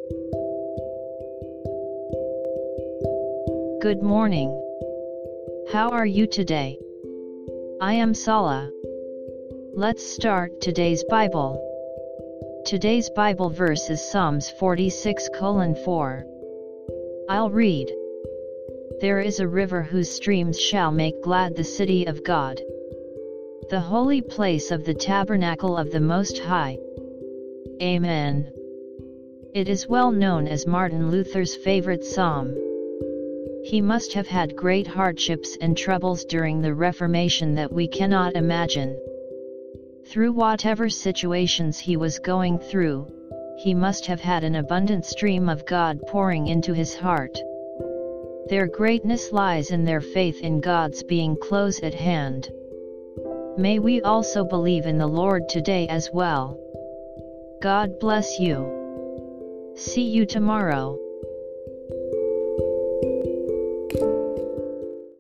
Good morning. How are you today? I am Sala. Let's start today's Bible. Today's Bible verse is Psalms 46:4. I'll read. There is a river whose streams shall make glad the city of God, the holy place of the tabernacle of the Most High. Amen. It is well known as Martin Luther's favorite psalm. He must have had great hardships and troubles during the Reformation that we cannot imagine. Through whatever situations he was going through, he must have had an abundant stream of God pouring into his heart. Their greatness lies in their faith in God's being close at hand. May we also believe in the Lord today as well. God bless you. See you tomorrow.